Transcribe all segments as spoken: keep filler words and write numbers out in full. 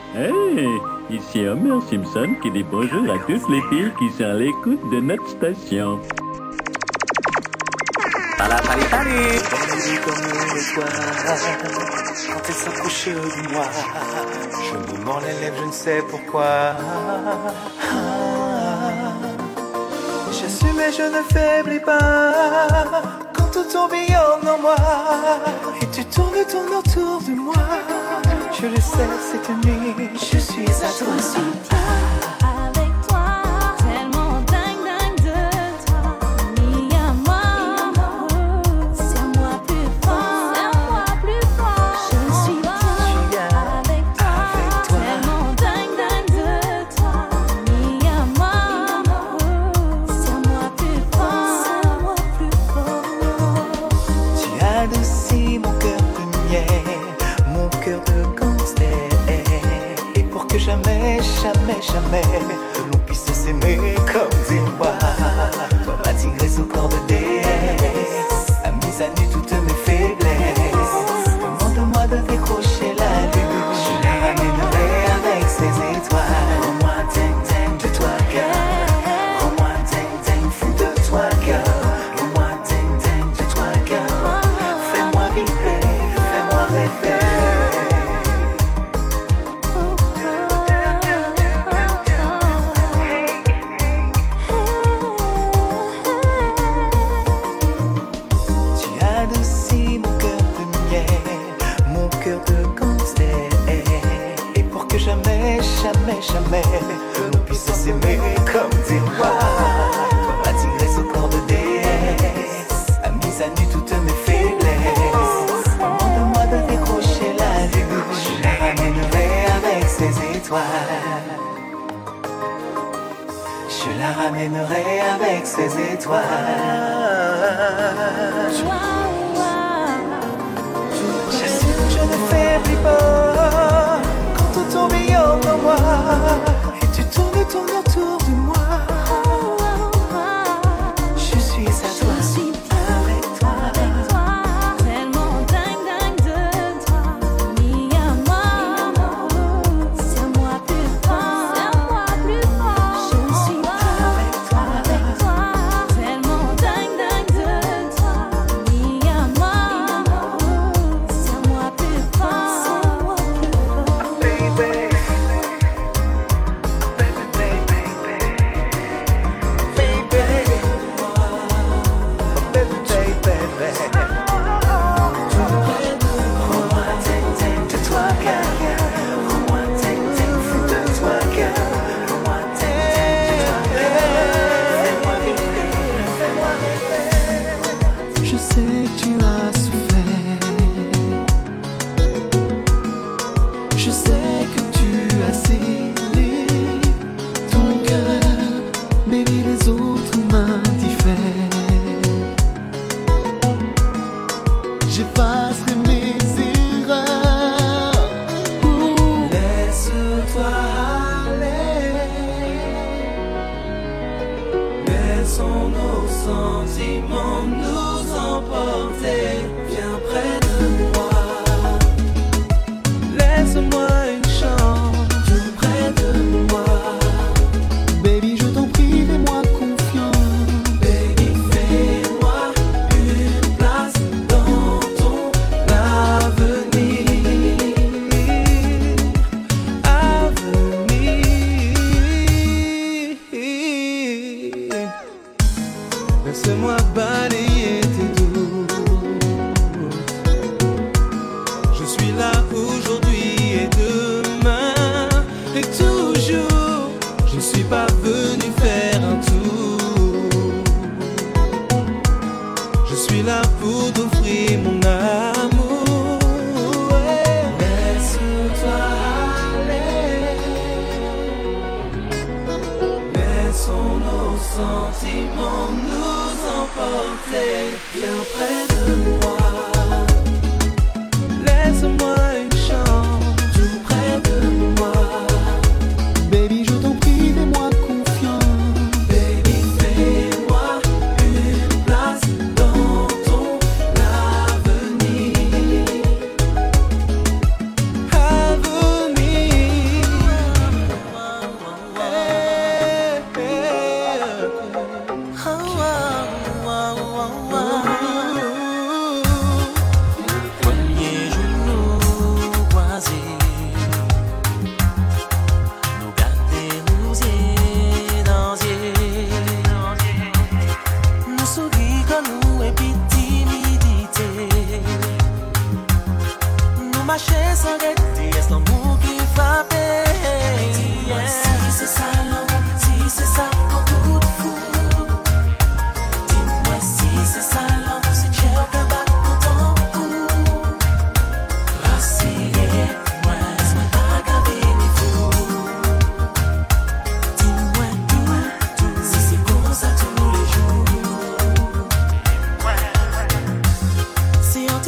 Hey, ici Homer Simpson qui dit bonjour à toutes les filles qui sont à l'écoute de notre station. Pala pali pali. Belle comme l'étoile, quand elle s'approche de moi, je me mords les lèvres, je ne sais pourquoi. J'assume et je ne faiblis pas, quand tout tourbillonne en moi, et tu tournes, tournes autour de moi. Je le sais, cette nuit, je suis à toi. Je suis avec toi, tellement dingue, dingue de toi. Mis à moi, c'est à moi plus fort, c'est à moi plus fort. Je suis avec toi, tellement dingue, dingue de toi. Mis à moi, c'est à moi plus fort, c'est à moi plus fort. Tu adoucis mon cœur de miel, mon cœur de gangster. Et pour que jamais, jamais, jamais l'on puisse s'aimer comme des rois, toi ma tigresse au corps de déesse a mis à nu toutes mes faiblesses. Demande-moi de décrocher la lune, je la ramènerai avec ses étoiles. Rends-moi dingue, dingue de toi, girl. Rends-moi dingue, dingue, fou de toi, girl. Rends-moi dingue, dingue de toi, girl. Fais-moi vibrer, fais-moi rêver. Tu adoucis mon cœur de miel, mon cœur de gangster. Et pour que jamais, jamais, jamais l'on puisse s'aimer comme des rois, toi ma tigresse au corps de déesse a mis à nu toutes mes faiblesses. Demande-moi de décrocher la lune, je la ramènerai avec ses étoiles. Je la ramènerai avec ses étoiles. J'assume, je ne faiblis pas, quand tout tourbillonne en moi, et tu tournes, tournes autour de moi. Je suis à toi, Je suis avec toi. avec toi, tellement dingue, dingue de toi. Mis à moi, c'est à moi plus fort, c'est à moi plus fort. Je suis avec toi, avec toi, tellement dingue, dingue de toi. Mis à moi, c'est à moi plus fort, c'est à moi plus fort. Baby, baby, baby, baby, baby, baby, baby. Rends-moi dingue, dingue de toi, girl. Rends-moi dingue, dingue, fou de toi, girl. Rends-moi dingue, dingue de toi, girl. Fais-moi vibrer, fais-moi rêver. Je sais que tu as souffert. Je sais que tu as scellé ton cœur, baby, les autres m'indiffèrent. J'effacerai mes erreurs. Ouh. Laisse-toi aller. Laissons nos sentiments nous emporter. Viens près de moi. Laisse-moi une chance. Tout près de moi. Baby, je t'en prie, fais-moi confiance. Baby, fais-moi une place dans ton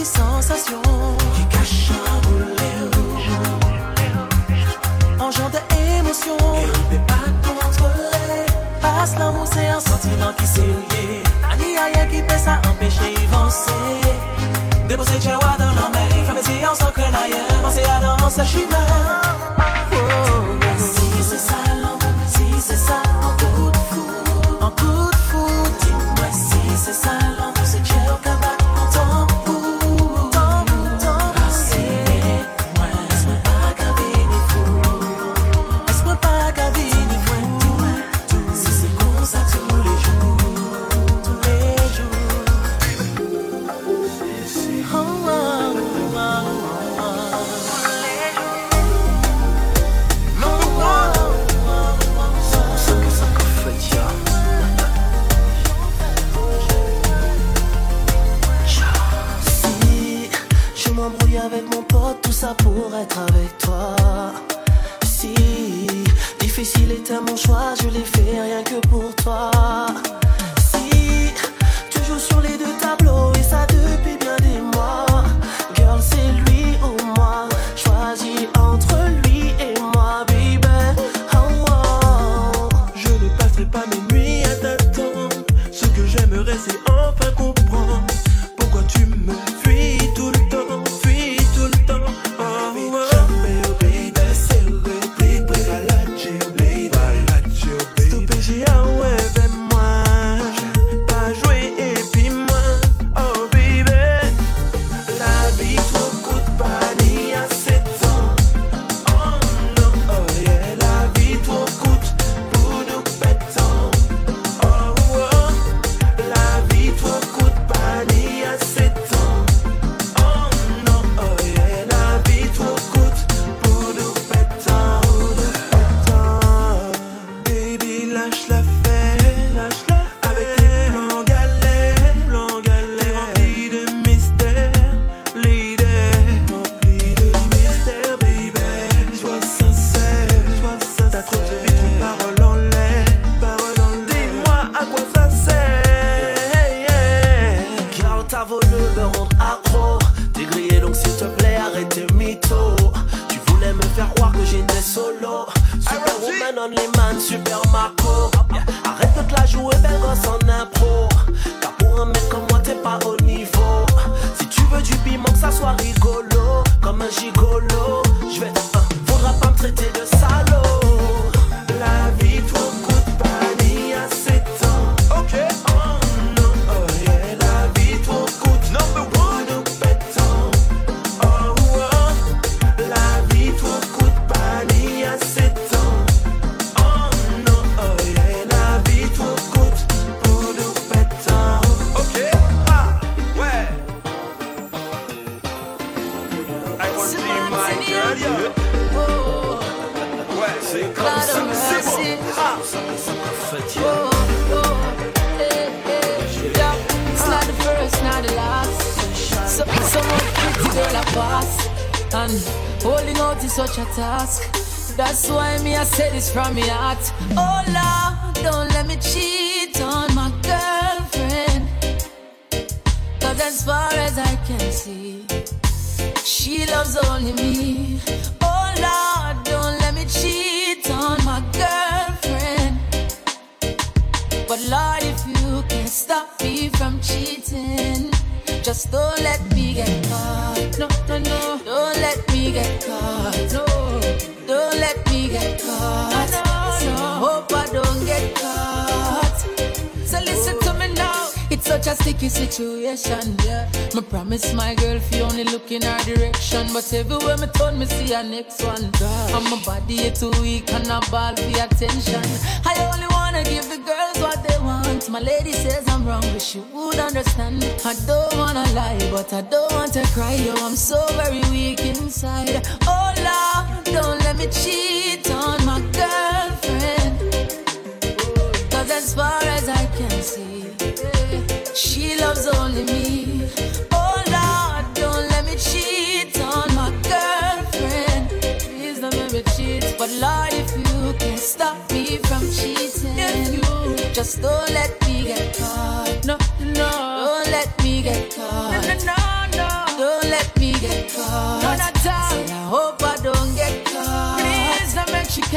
petites sensations qui cachent un boulet rouge, en genre d'émotion et on peut pas contrôler. Passe l'amour, c'est un sentiment qui s'est lié. Ani a rien qui peut ça empêcher d'avancer. Déposer Jawa dans la mer, faire mes yeux en sans craindre ailleurs. Penser à danser chemin. Si c'est ça l'amour, si c'est ça en coup de foudre, En coup de foudre, dis-moi si c'est ça l'amour, c'est Dieu qui va en temps pour tant, tant. moi, laisse-moi pas gaver les fous. Laisse-moi pas gaver ni fou. Si c'est comme ça tous les jours, Tous les jours. Oh, oh, oh, oh, oh. Si je m'embrouille avec mon pote, tout ça pour être avec toi. Si difficile était mon choix, je l'ai fait rien que pour toi. Si tu joues sur les deux tableaux et ça depuis bien des mois. Girl, c'est lui ou moi. Choisis entre lui et moi, baby. Oh, oh. Je ne passerai pas mes nuits à t'attendre. Ce que j'aimerais c'est enfin comprendre pourquoi tu me fuis tout le temps, fuis tout le temps. Oh, oh. Stopper, j'ai un ouais, fais-moi pas jouer et puis moi. Oh baby, la vie trop coûte pas ni à sept ans. Oh non, oh yeah, la vie trop coûte pour nous pétons. Oh oh, la vie trop coûte pas ni à sept ans. Oh non, oh yeah, la vie trop coûte pour nous pétons. Baby, lâche la fête, lâche la avec tes plans galets, plans galets remplis de mystère, l'idée remplie de mystère, baby. Sois sincère, sois sincère. T'as trop de vie, trop de paroles en l'air, paroles en l'air. Dis-moi à quoi ça sert, yeah. Car t'as voulu me rendre accro. T'es grillé donc s'il te plaît arrête tes mythos. Tu voulais me faire croire que j'étais solo. Superwoman, only man, super Marco. Arrête de te la jouer belle gosse en impro. Car pour un mec comme moi t'es pas au niveau. Si tu veux du piment que ça soit rigolo. Comme un gigolo. Je vais euh, faudra pas me traiter de salaud. La vie trop coûte pas ni à sept ans. Ok. Oh non, oh yeah, la vie trop coûte number one nous pétons. Oh oh, la vie trop coûte pas ni à sept ans. Oh non, oh yeah, la vie trop coûte pour nous pétons. Ok. Ah ouais. I want to see my girl, yeah. Ouais, c'est comme ça, c'est bon. Ah. It's not the first, not the last. So, someone pretty girl a pass, and holding out is such a task. That's why me I say this from my heart. Oh Lord, don't let me cheat on my girlfriend. Cause as far as I can see, she loves only me. Oh Lord, don't let me cheat on my girlfriend. But Lord, if you can stop me from cheating, just don't let me get caught. No, no, no. Don't let me get caught. No. Don't let me get caught. No, no. Hope I don't get caught. So listen to me now. It's such a sticky situation, yeah. Me promise my girl if you only look in her direction, but everywhere me turn me see her next one. And my body is too weak and I ball for attention. I only wanna give the girls what they want. My lady says I'm wrong, but she would understand. I don't wanna lie, but I don't want to cry. Yo, I'm so very weak inside. Oh Lord, don't let me cheat on my girlfriend. Cause as far as I can see, she loves only me. Oh Lord, don't let me cheat on my girlfriend. Please don't let me cheat. But Lord, if you can stop me from cheating, if you just don't let me get caught. No, no, don't let me get caught. No, no, no, no.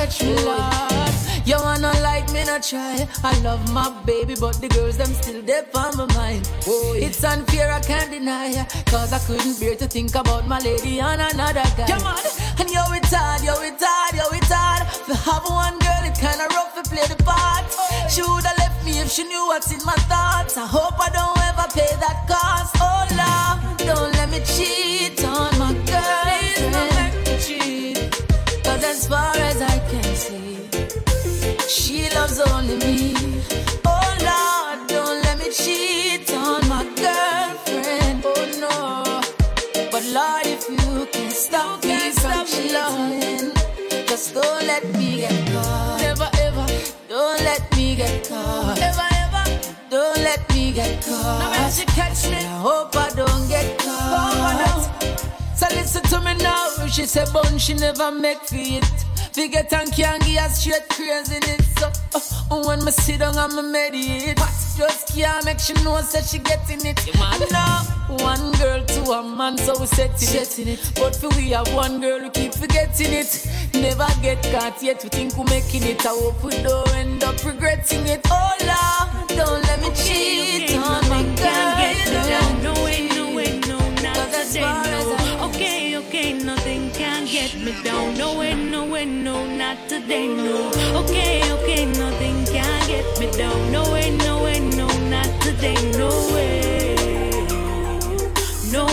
stretch me, Lord. You wanna like me, not try. I love my baby, but the girls, them still there on my mind. Oh, yeah. It's unfair, I can't deny. Cause I couldn't bear to think about my lady and another guy. Come on, and yo, it's hard, yo, it's hard, yo, it's hard. To have one girl, it's kinda rough to play the part. Oh, she would've left me if she knew what's in my thoughts. I hope I don't ever pay that cost. Oh, Lord, don't let me cheat on my girl. Please don't make me cheat. Cause as far as I can see, she loves only me. Oh Lord, don't let me cheat on my girlfriend. Oh no. But Lord, if you can stop you me can from stop cheating, just don't let me get caught. Never ever, don't let me get caught. Never ever, don't let me get caught. Now when she catch me, I hope I don't get caught. So listen to me now. She said, "Bun, she never make feet. Forget and can't give her straight crazy in it." So uh, when me sit down and me meditate, just can't make she know that she getting it. And now one girl to a man, so we setting it. it. But for we have one girl, we keep forgetting it. Never get caught yet, we think we're making it. I hope we don't end up regretting it. Oh Lord, don't let me cheat okay, on my girl. No way, no way, no, not today, no. Okay, okay, nothing can get me down. No way, no way, no, not today, no. Okay, okay, nothing can get me down. No way, no way, no, not today, no way. No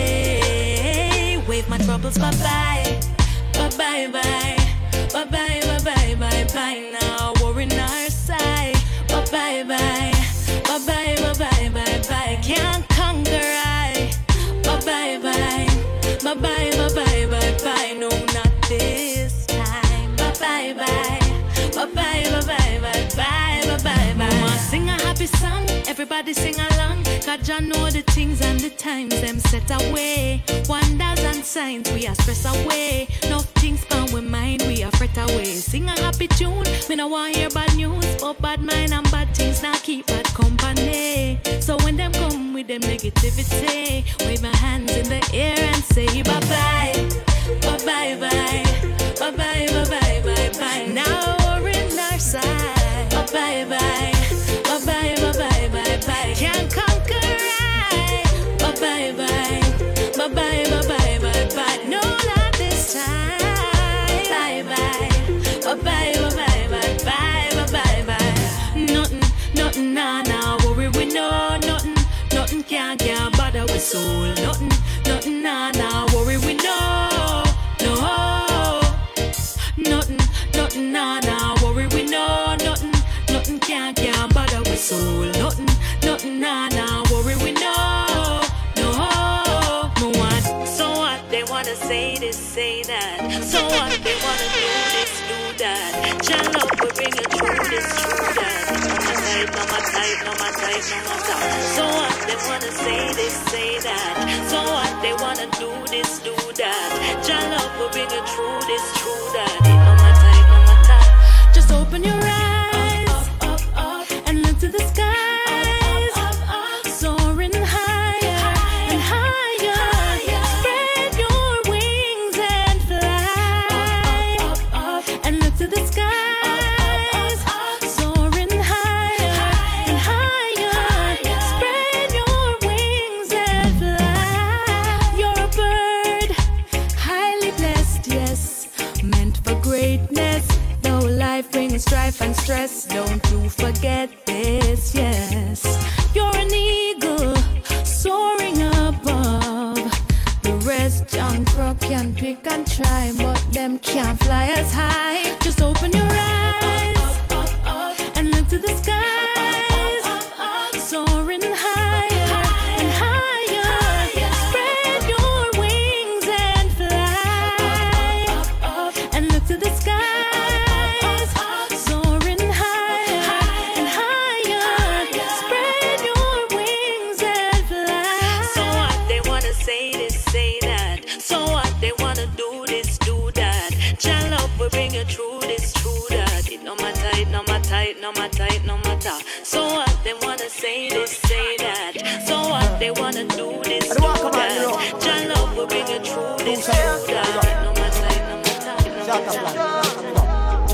way. Wave my troubles bye-bye. Bye-bye, bye. Bye-bye, bye-bye, bye-bye. Now worry on our side. Bye-bye, bye. Bye-bye, bye-bye, bye-bye. Can't conquer I. Bye-bye, bye. Bye-bye, bye-bye, bye-bye, no, not this time. Bye-bye, bye. Bye-bye, bye-bye, bye-bye, bye-bye, bye. Mama sing a happy song, everybody sing along. Cause you know the things and the times them set away. Wonders and signs we are stress away. No things on we mind we are fret away. Sing a happy tune, me no want hear bad news. But bad mind and bad things now keep bad company. So when them come with them negativity, wave my hands in the air and say bye-bye, bye-bye, bye, bye-bye, bye-bye, bye-bye. Now we're in our side. Bye-bye, bye, bye-bye, bye-bye, bye-bye. Can't conquer I. Bye-bye, bye, bye-bye, bye-bye, bye-bye. No, not this time. Bye-bye, bye-bye, bye-bye, bye-bye, bye-bye, bye. Nothing, nothing, nah, nah, worry we know. Nothing, nothing can't, can't bother with soul. Nothing, nothing, nah, nah, worry we know. No, nothing, nothing, nah, nah, worry we know. Nothing, nothing can't, can't bother with soul. Nothing, nothing, nah, nah, worry we know. No, no one. So what? They wanna say this, say that. So what? They wanna do this, do that. Chill up, we bring it through this, through that. No my type, no my type, no my type. So what? They wanna say this, say that. So what? They wanna do this, do that. Chill up, we bring it through this, through that. No my type, no my type. Just open your eyes up, up, up, up, and look to the skies. Up, up, up, soaring higher and higher. Spread your wings and fly. Up, up, up, and look to the skies. Soaring higher and higher. Spread your wings and fly. You're a bird, highly blessed, yes, meant for greatness. Though life brings strife and stress, don't you forget this, yes. You're an eagle, soaring above. The rest John Crook can pick and try, but them can't fly as high. Just open your eyes up, up, up, and look to the skies. Soaring higher and higher. Spread your wings and fly. Up, up, and look to the skies. Soaring higher and higher. Spread your wings and fly. So what? They wanna say this, say that. So what? They wanna do this, do that. Chill up, we bring it through this, through that. It no matter, it no matter, it no matter, it no matter. So what? They wanna say this, say that. So what? They wanna do this, do that. Chill up, we bring it through this, through that. It no matter, it no matter, it no matter.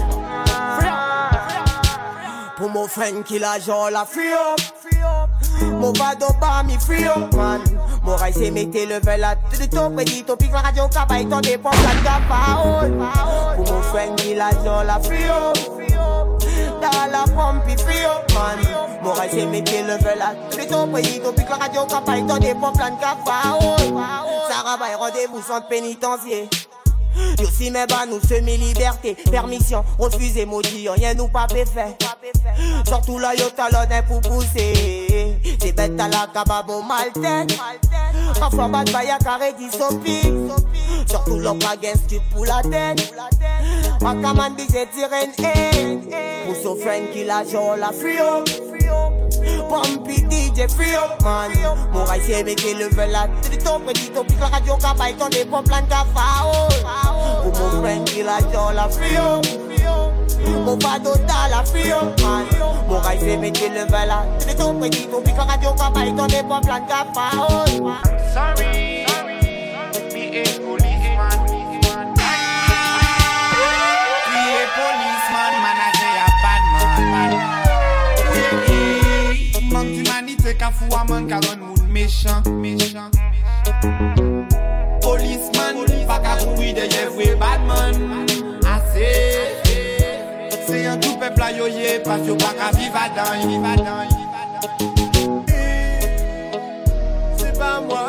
Pour mon friend qui la genre la free up. Mon vado pas mi free up man. Mon rail c'est mettez le vel à tout de ton prédit. Ton pic la radio cabay ton dépend la capa. Pour mon friend qui la genre la free up. Dans la pompe free up man. Mon rail c'est mettez le vel à tout de ton prédit. Ton pic la radio cabay ton dépend la capa. Sarah va rendez-vous sans pénitencier. Yo si mais bah nous semi-liberté. Permission, refusez maudit, rien nous pas fait. Surtout là yo talonne pour pousser. C'est bête à la cababo mal tête. Parfois bat baya carré qui s'opique. Surtout l'homme pas gain stupide pour la tête. Ma caman bise tirène pour son friend qui la joue la free up. Pumpy D J free up man. Mon rail c'est mettez le vel à tout de ton prédit. Ton pic la radio cabay ton des pompes plein de cafao. Pour mon friend qui la joue la free up. Mon vado dans la free up man. Mon rail c'est mettez le vel à tout de ton prédit. Ton pic la radio cabay ton des pompes plein de cafao. Sorry, be a policeman. Be a policeman, man, I say a bad man. Manque d'humanité qu'a fou à man, qu'a rend moun méchant, méchant. Policeman, pas qu'à courir derrière vrai bad man. Assez, c'est un tout peuple à yoye, parce que pas qu'à vivre à dans, vivre à dans. C'est pas moi.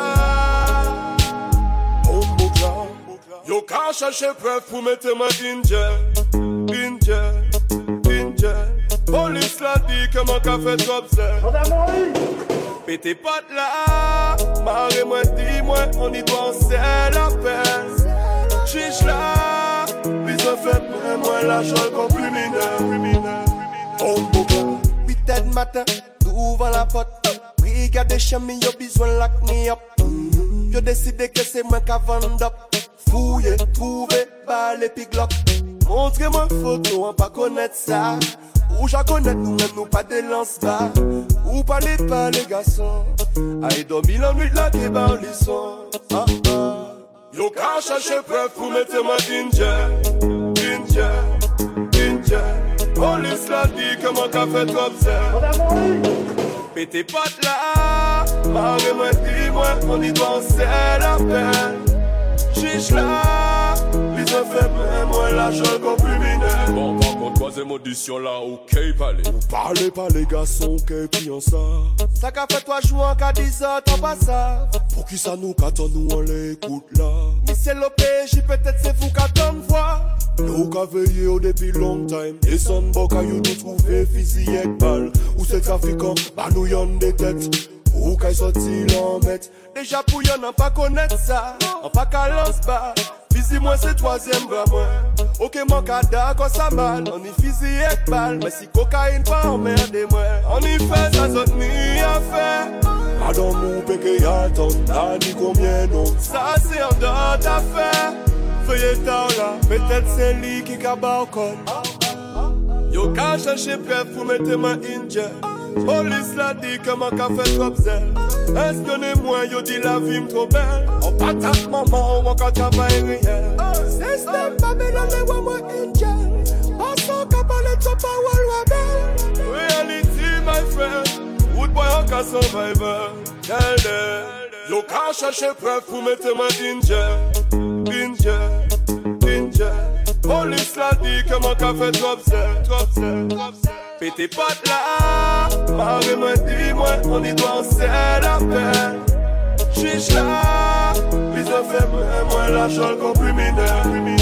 Oh mon gars, yo qu'à chercher preuve pour mettre ma in jail, in jail, in jail. Police l'a dit que mon café trop c'est. Pété pas de là, marre moi dis-moi, on y doit en serrer la peine. Chiche là, puis ça fait même moi la chose comme criminel. Oh mon gars, huit heures du matin, ouvre la porte. Brigade chemin, yo besoin lock me up. Yo décidé que c'est moi qui vend up. Fouiller, trouver, balle et puis glock. Montrez-moi photo, on pas connaître ça. Ou j'en connais nous même nous pas de lance-bas. Ou pas les pas les garçons. Aïe dormi la nuit là qui bat les sons. Ah ah. Yo qu'à chercher preuve pour mettre ma in jail, in jail, in jail. Police l'a dit que mon café trop c'est. Pété pas de là, marre moi dis-moi, on y doit en serrer la peine. Chiche là, les effets même moi la chose comme criminel. Bon par contre troisième audition là, ok parlez. Vous parlez pas les garçons, ok puis en ça. Ça qu'a fait toi jouer en cas dix heures, t'en pas ça. Pour qui ça nous qu'attend nous on l'écoute là. Mais c'est l'O P J, peut-être c'est vous qu'attend voir. Nous qu'a veillé au depuis long time. Et son boca you nous trouver fusil avec balle. Ou c'est trafiquant, bah nous y'en des têtes. Ou qu'à sorti l'embête. Déjà pour y'en n'a pas connaître ça. En pas qu'à lance-bas. Fisi moi c'est troisième bras moi. Ok mon kada quand ça mal. On y fisi avec balle. Mais si cocaïne pas emmerdez moi. On y fait ça zone ni à faire. Pardon nous péché y'a le temps. T'as dit combien non. Ça c'est en dehors d'affaire. Feuillet tard là. Peut-être c'est lui qui cabas au col. Yo qu'à chercher preuve pour mettre ma in jail. Police l'a dit que mon café trop zèle. Espionnez-moi, yo dit la vie m'tro belle. On patate maman, on quand travail réel. Système Babylon, les wa moi angel. Passons qu'à parler de son power rebelle. Reality, my friend. Woodboy, on qu'à survivor. Tell them. Yo qu'à chercher preuve pour mettre ma in jail. In jail, in jail. Police l'a dit que mon café trop zèle. Trop zèle, trop zèle. Pété pas de là, marre moi dis-moi, on y doit en serrer la peine. Chiche là, les effets même moi la chose comme criminel.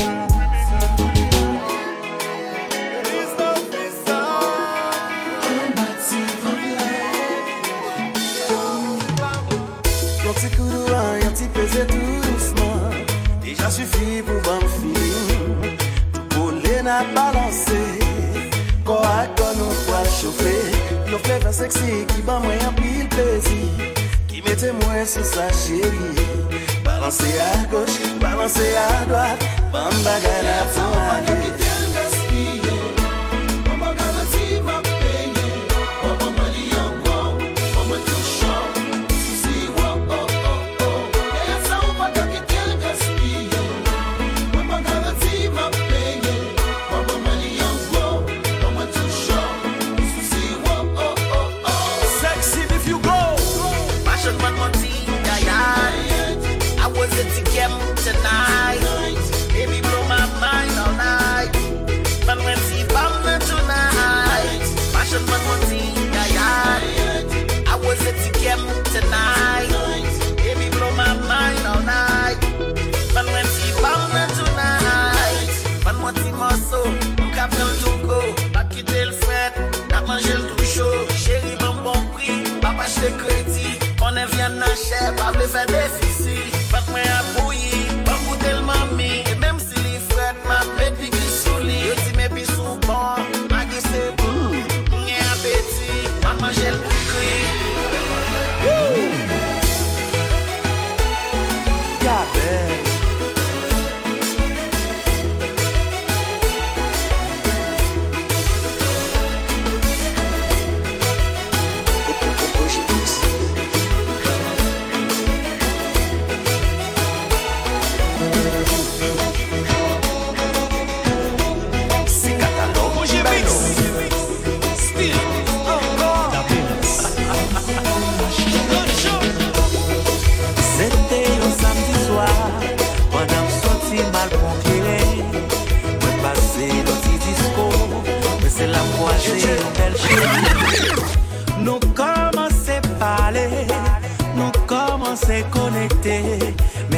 Y'a petit coup de vent, y'a petit pesé tout doucement. Déjà suffit pour bon feeling. Tout les n'a balancé. Quand à quand nous poils chauffer. Y'a flavor sexy qui bat moi un pile plaisir. Qui mettait moi sur sa chérie. Balancer à gauche, balancer à droite. Bamba gana pour aller.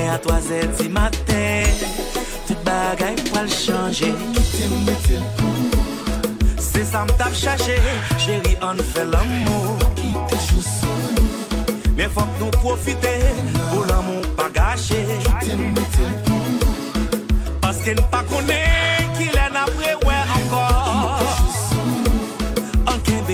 à trois heures du matin, tout bagaille pour le changer. C'est ça m't'a cherché, chérie, on fait l'amour. Mais faut que nous profiter pour l'amour pas gâché. Parce qu'il ne pas connaît qu'il est après ouais encore. En qu'un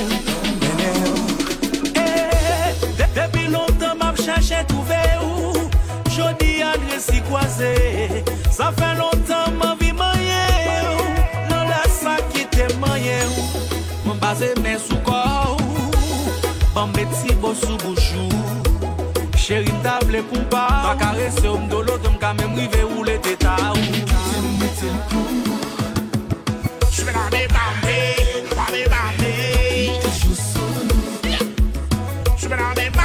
depuis longtemps m'a cherché trouver où jodi adresse croisé. Ça fait longtemps ma vie moyen. Non la ça qui te moyen. Mon basé mes sous corps. Bon petit beau sous bouchou. Chérie m'table pour pas. Ta caresse au m'dolo de m'ka même rive où les tétas. Je vais la débamber, la débamber. Je vais la débamber.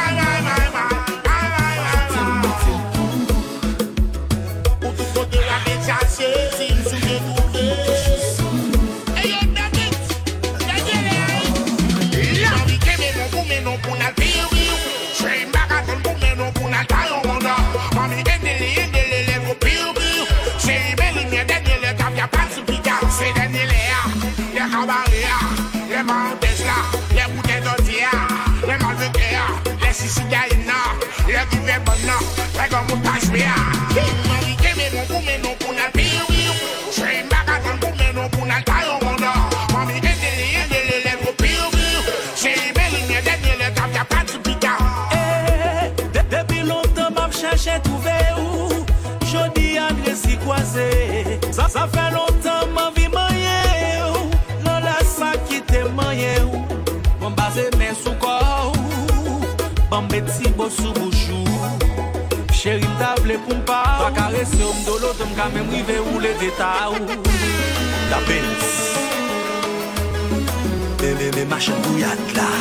Ça, ça fait longtemps ma vie moyen. Non la ça qui te moyen. Bon basé mes sous corps. Bon petit beau sous bouchou. Chérie m'table pour pas. Ta caresse au m'dolo de m'ka même rive où les détails. La Benz. Bébé bébé machin bouillade là.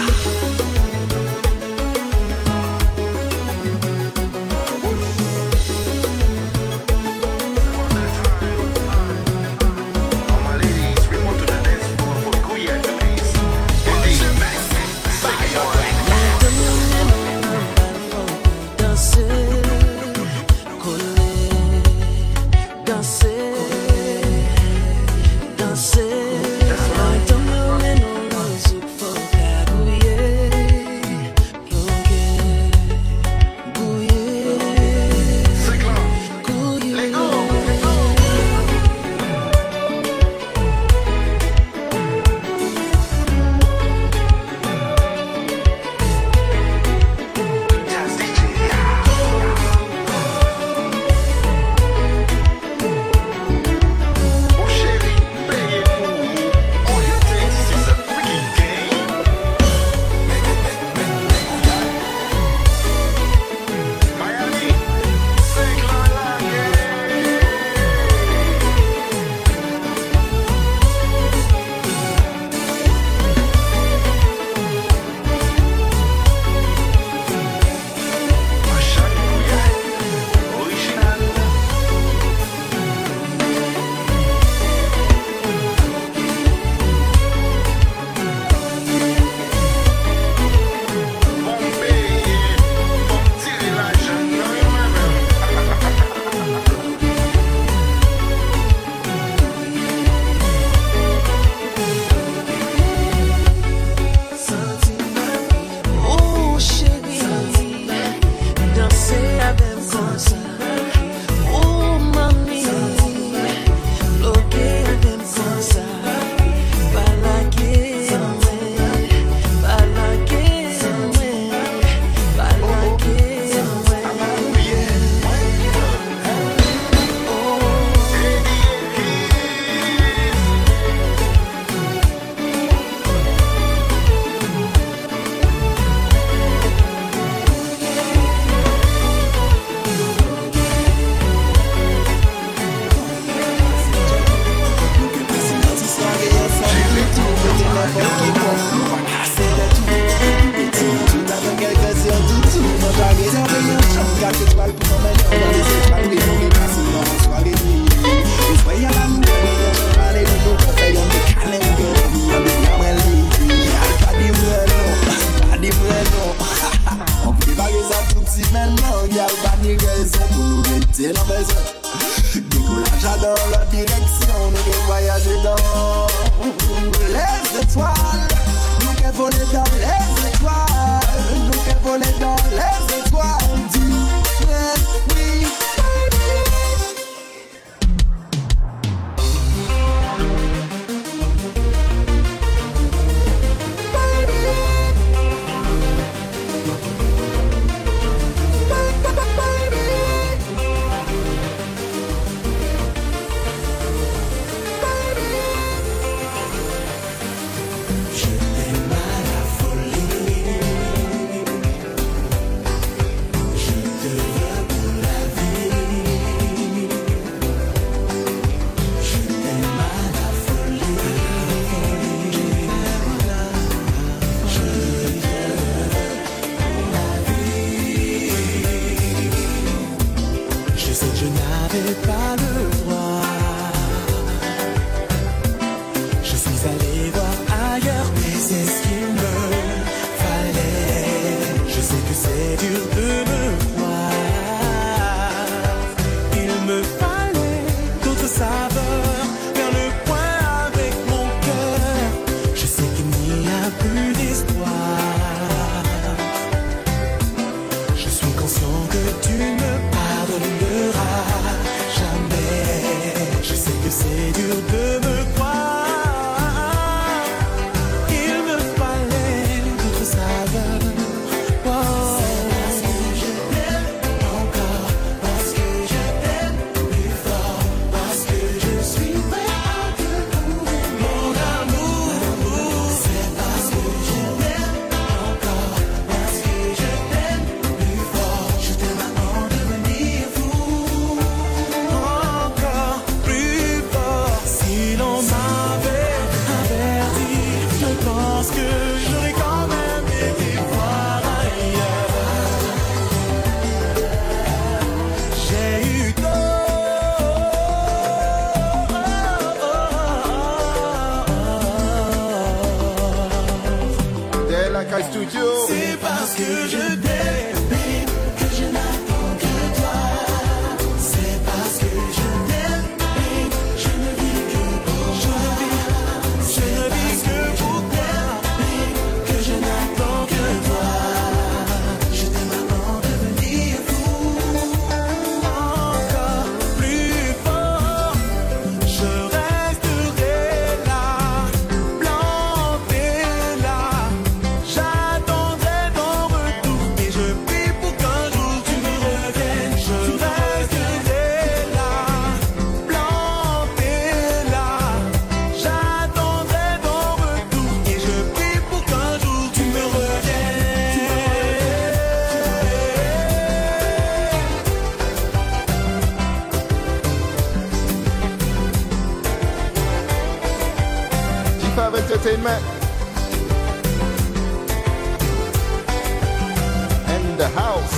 maison pour nous rester la maison. Décollage dans la direction, nous devons voyager dans les étoiles. Nous devons voler dans les étoiles. Nous devons voler dans les étoiles. Dis oui, c'est parce que je t'aime que je n'attends que toi. C'est parce que je t'aime, je ne vis que pour toi. Je ne vis que pour toi, que je n'attends que toi. Je t'aime avant de devenir fou. Encore plus fort, je resterai là, planté là. J'attendrai ton retour et je prie pour qu'un jour tu me reviennes. Je resterai là, planté là. J'attendrai ton retour et je prie pour qu'un jour tu me reviennes. G five Entertainment in the house.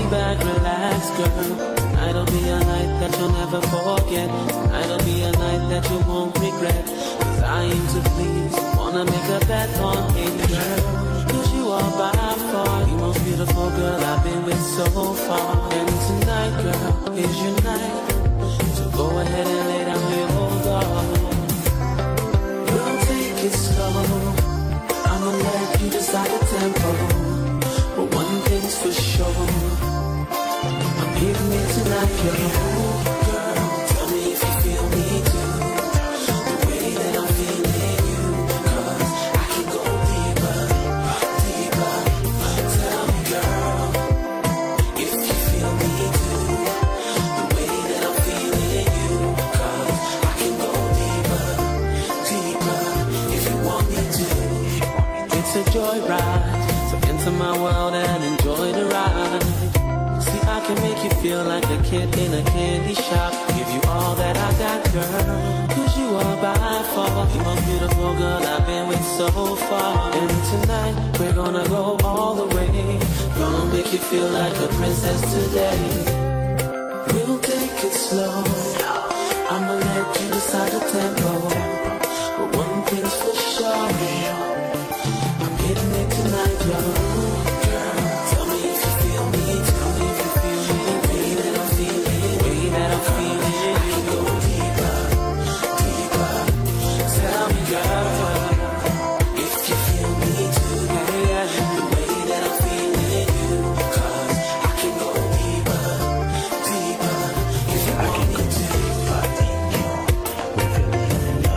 back, relax, girl. Tonight'll be a night that you'll never forget. Tonight'll be a night that you won't regret. Cause I aim to please, wanna make a bet on it, girl. Cause you are by far the most beautiful girl I've been with so far. And tonight, girl, is your night. So go ahead and lay down your guard. Girl, take it slow. I'ma let you decide the tempo. But one thing's for sure, I'm hitting it tonight, girl. Girl, tell me if you feel me too, the way that I'm feeling you. Cause I can go deeper, deeper. Tell me, girl, if you feel me too, the way that I'm feeling you. Cause I can go deeper, deeper, if you want me to. It's a joyride, so enter my world and enjoy the ride. See, I can make you feel like a kid in a candy shop. Give you all that I got, girl. Cause you are by far the most beautiful girl I've been with so far. And tonight, we're gonna go all the way. Gonna make you feel like a princess today. We'll take it slow. I'ma let you decide the tempo. But one thing's for sure, I'm getting it tonight, yo. Love.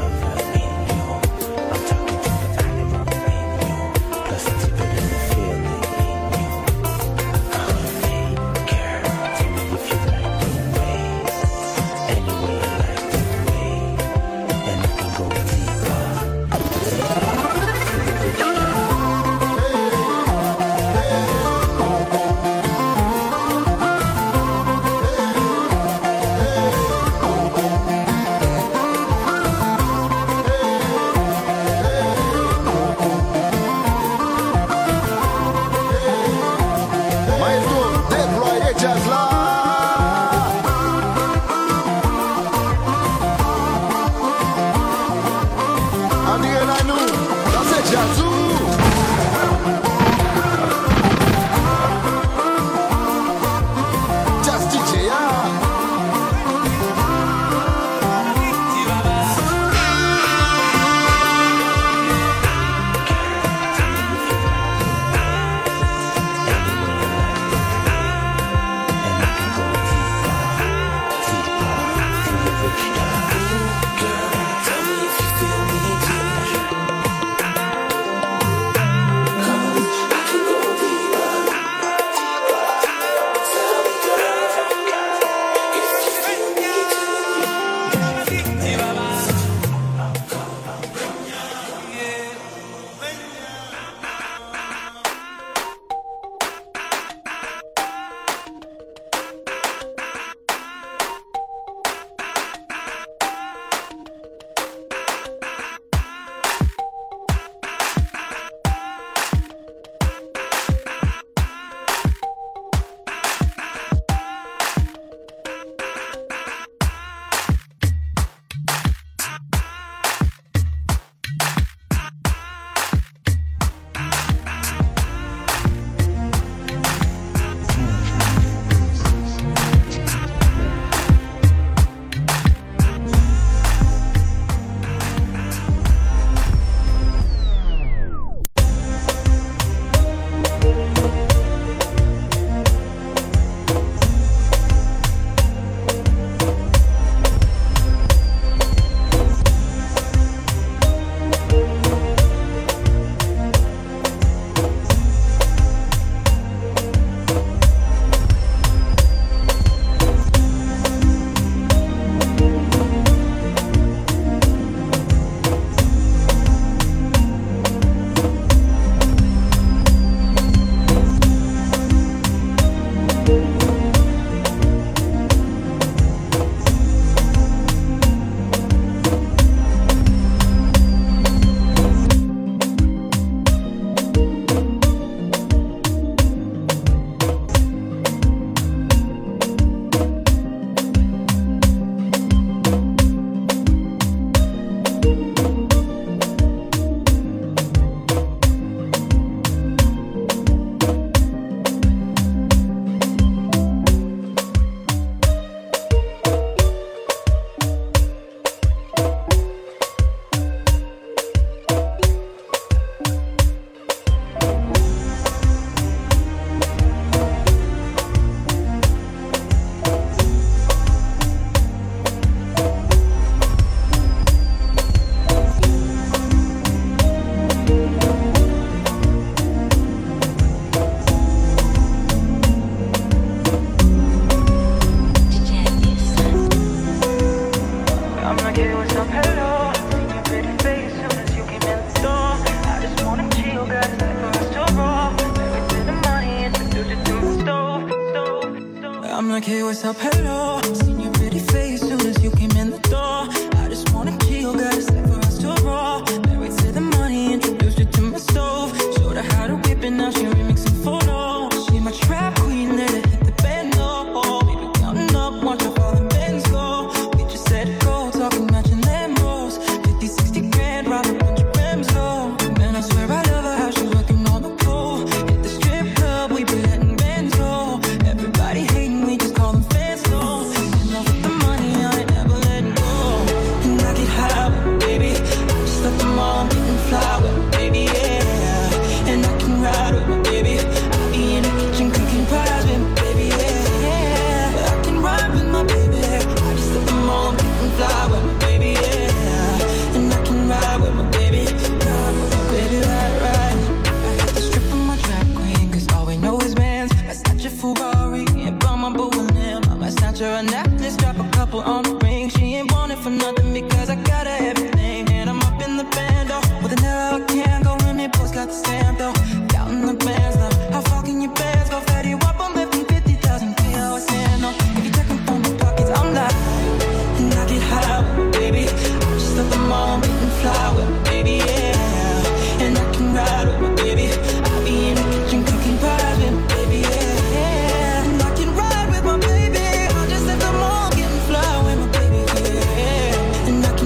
I'm like, hey, what's up, hello. Seen your pretty face soon as you came in the door. I just wanna chill, got a step for us to roll. Married to the money, introduced her to my stove. Showed her how to whip it, now she remixing photos. She my trap queen, let her hit the bando. We been counting up, watch how far the bands go. We just set it go, talking matching Lambos. Fifty, sixty grand, rob a bunch of grams low. Man, I swear I love her, how she working on the pole. Hit the strip club, we been letting bands go. Everybody hating, we just call them fans low. In love with the money, I ain't never letting go. And I get high with baby, I just left them all, I'm getting fly with baby, yeah. And I can ride with my baby, I be in the kitchen cooking pies with my baby, yeah. I can ride with my baby, I just left them all, I'm getting fly with my baby, yeah. And I can ride with my baby, ride with my baby, ride, ride. I had to strip on my trap queen, cause all we know is bands. I snatch a Ferrari and buy my boo and him. I might snatch her a necklace, drop a couple on the ring. She ain't want it for nothing because I got her everything. And I'm up in the band, oh, with an arrow I can't go in. It boys got the stamp though, counting the bands now. How far can your bands go? Fatty Wap, I'm lifting fifty thousand K, I was saying no. If you checking from the pockets, I'm live. And I get high with my baby, I just love them all, I'm getting fly with my baby, yeah. And I can ride with my baby, I be in the kitchen cooking pies with my baby, yeah. And I can ride with my baby, I just let them all get fly with my baby, yeah. And I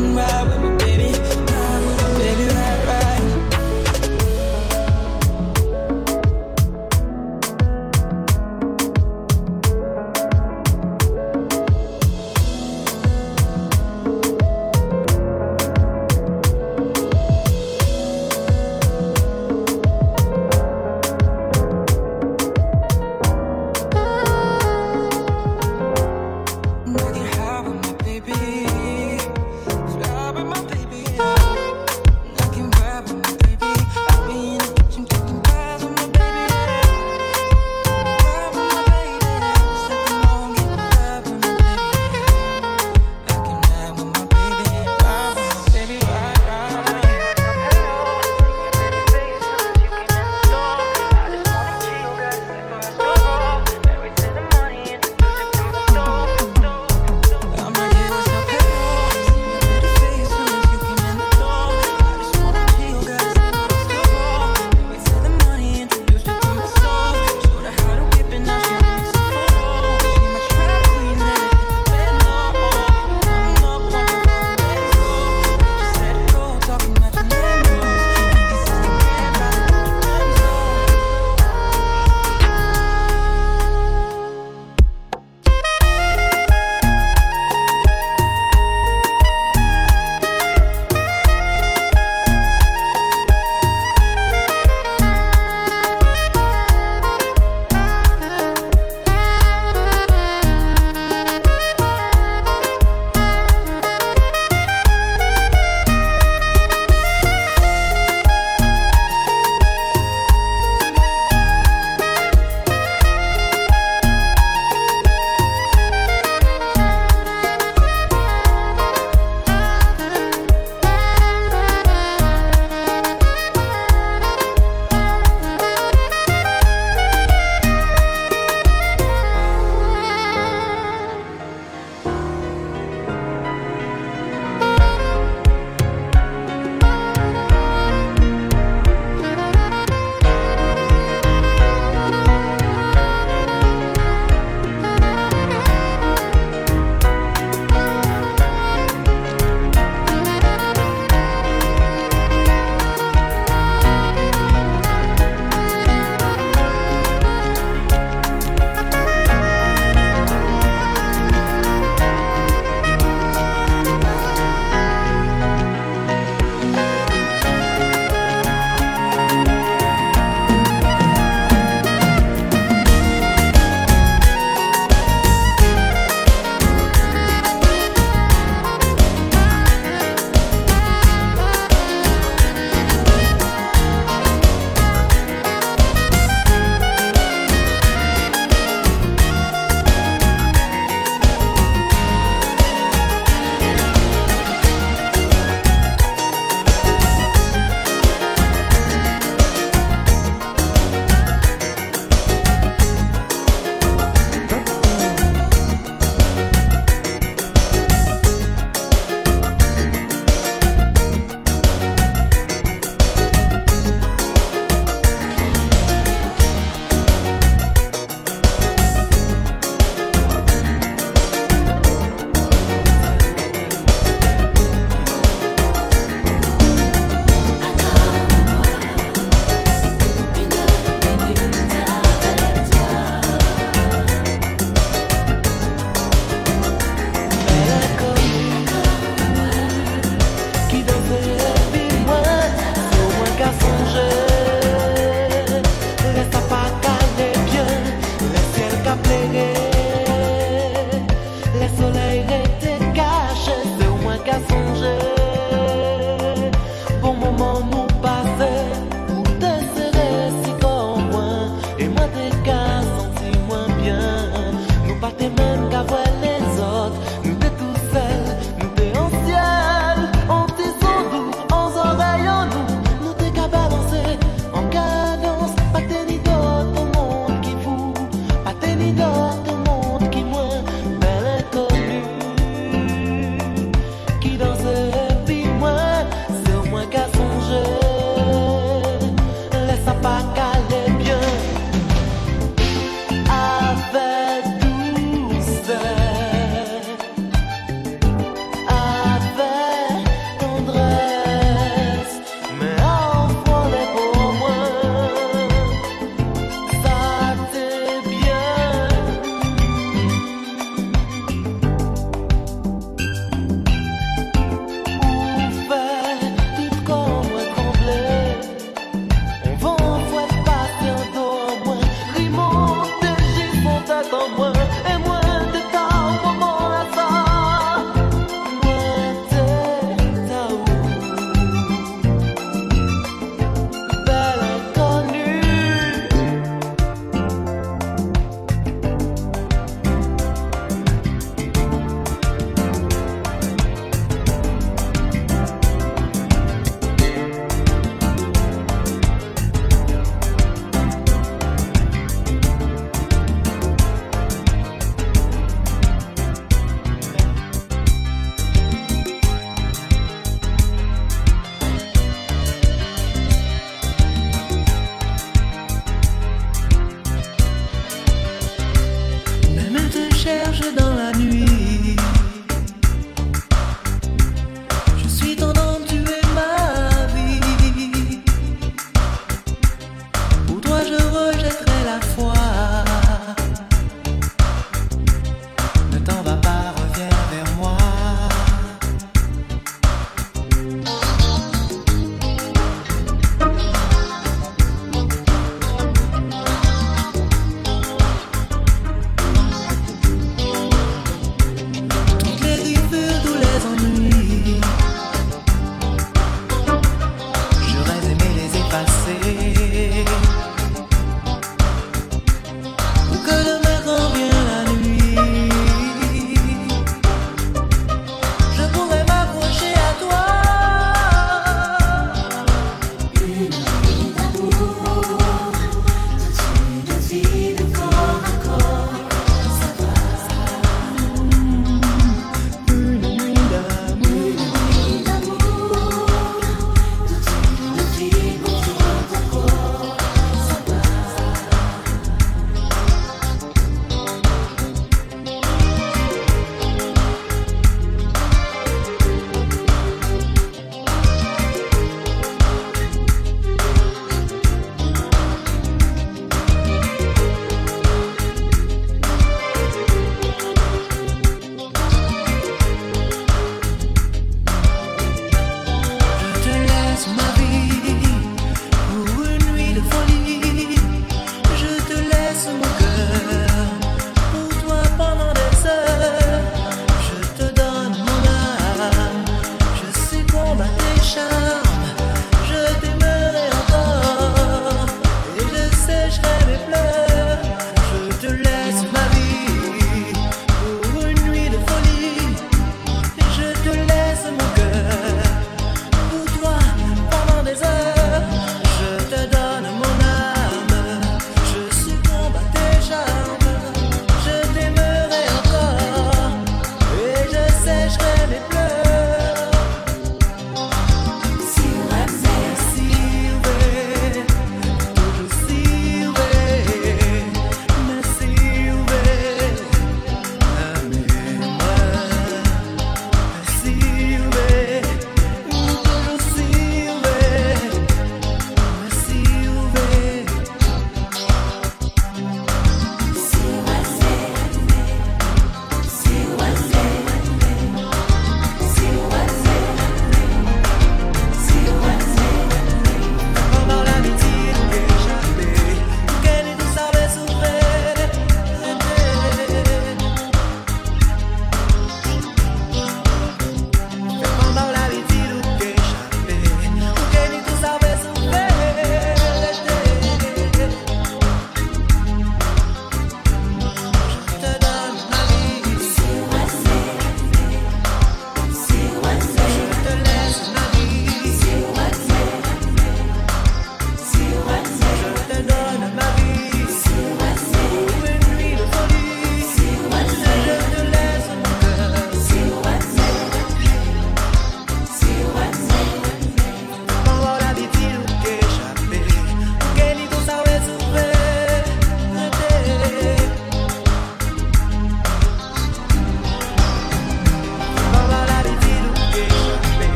Et moins de temps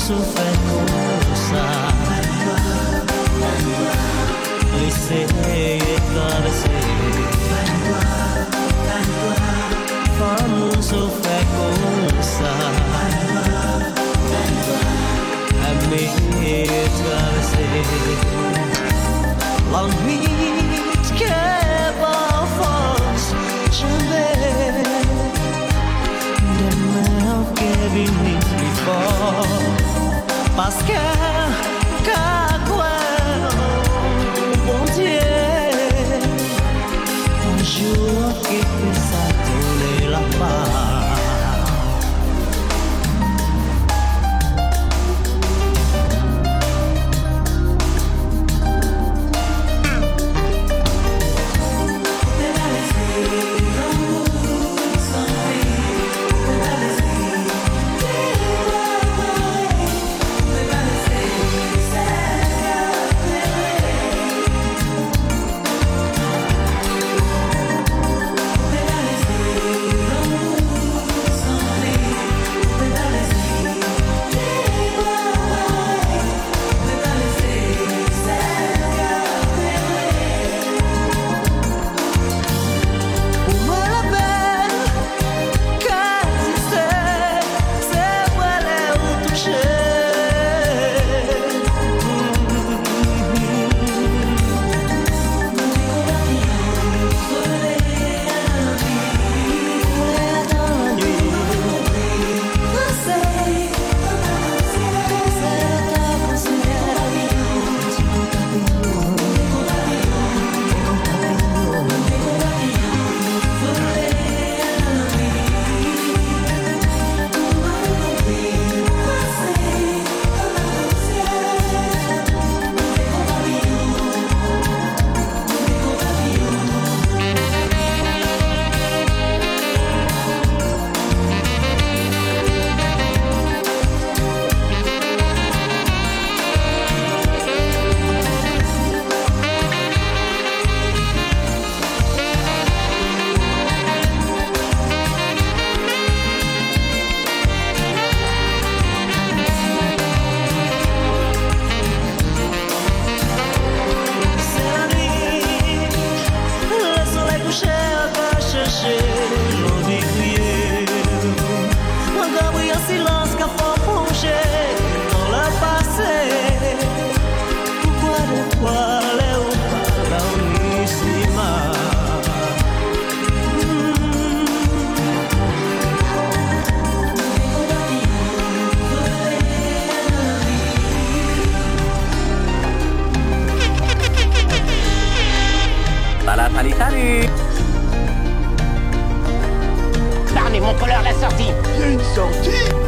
souffert comme ça. Laissez traverser. Femme souffert comme ça. Aimer traverser. La nuit qui est pas force, je vais. Demain qui vient plus fort. Parce que, qu'à quoi, bon Dieu, un jour qui peut s'atteler là-bas. Salut mon colleur, la sortie. Il y a une sortie.